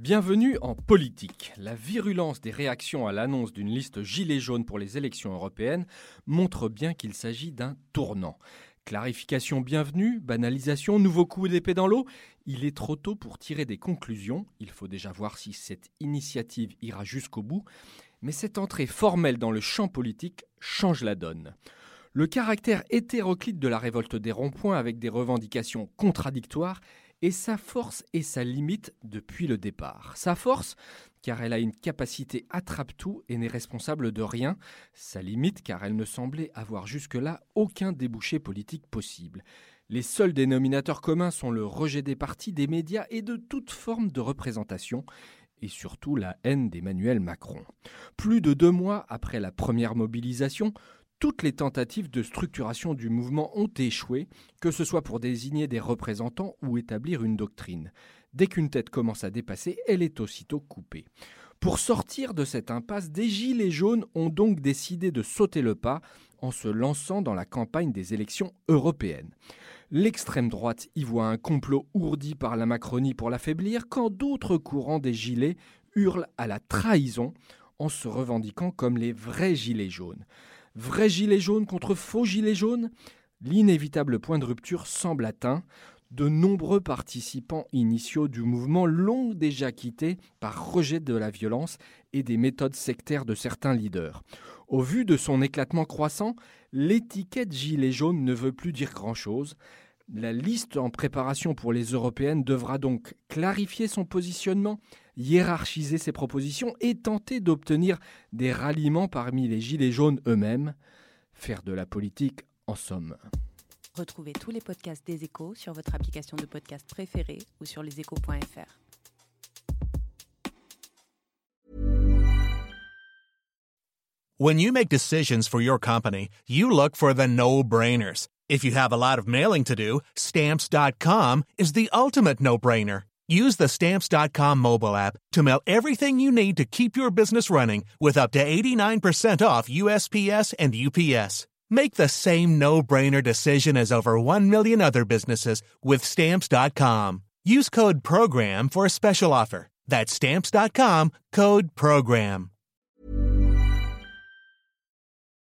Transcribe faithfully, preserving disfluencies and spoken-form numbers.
Bienvenue en politique. La virulence des réactions à l'annonce d'une liste gilet jaune pour les élections européennes montre bien qu'il s'agit d'un tournant. Clarification bienvenue, banalisation, nouveau coup d'épée dans l'eau. Il est trop tôt pour tirer des conclusions. Il faut déjà voir si cette initiative ira jusqu'au bout. Mais cette entrée formelle dans le champ politique change la donne. Le caractère hétéroclite de la révolte des ronds-points avec des revendications contradictoires est sa force et sa limite depuis le départ. Sa force, car elle a une capacité attrape-tout et n'est responsable de rien. Sa limite, car elle ne semblait avoir jusque-là aucun débouché politique possible. Les seuls dénominateurs communs sont le rejet des partis, des médias et de toute forme de représentation, et surtout la haine d'Emmanuel Macron. Plus de deux mois après la première mobilisation, toutes les tentatives de structuration du mouvement ont échoué, que ce soit pour désigner des représentants ou établir une doctrine. Dès qu'une tête commence à dépasser, elle est aussitôt coupée. Pour sortir de cette impasse, des gilets jaunes ont donc décidé de sauter le pas en se lançant dans la campagne des élections européennes. L'extrême droite y voit un complot ourdi par la Macronie pour l'affaiblir, quand d'autres courants des gilets hurlent à la trahison en se revendiquant comme les vrais gilets jaunes. Vrais gilets jaunes contre faux gilets jaunes, l'inévitable point de rupture semble atteint. De nombreux participants initiaux du mouvement l'ont déjà quitté par rejet de la violence et des méthodes sectaires de certains leaders. Au vu de son éclatement croissant, l'étiquette gilet jaune ne veut plus dire grand-chose. La liste en préparation pour les européennes devra donc clarifier son positionnement, hiérarchiser ses propositions et tenter d'obtenir des ralliements parmi les gilets jaunes eux-mêmes. Faire de la politique en somme. Retrouvez tous les podcasts des Échos sur votre application de podcast préférée ou sur leséchos point f r. When you make decisions for your company, you look for the no-brainers. If you have a lot of mailing to do, Stamps dot com is the ultimate no-brainer. Use the Stamps dot com mobile app to mail everything you need to keep your business running with up to eighty-nine percent off U S P S and U P S. Make the same no-brainer decision as over one million other businesses with Stamps dot com. Use code PROGRAM for a special offer. That's Stamps dot com, code PROGRAM.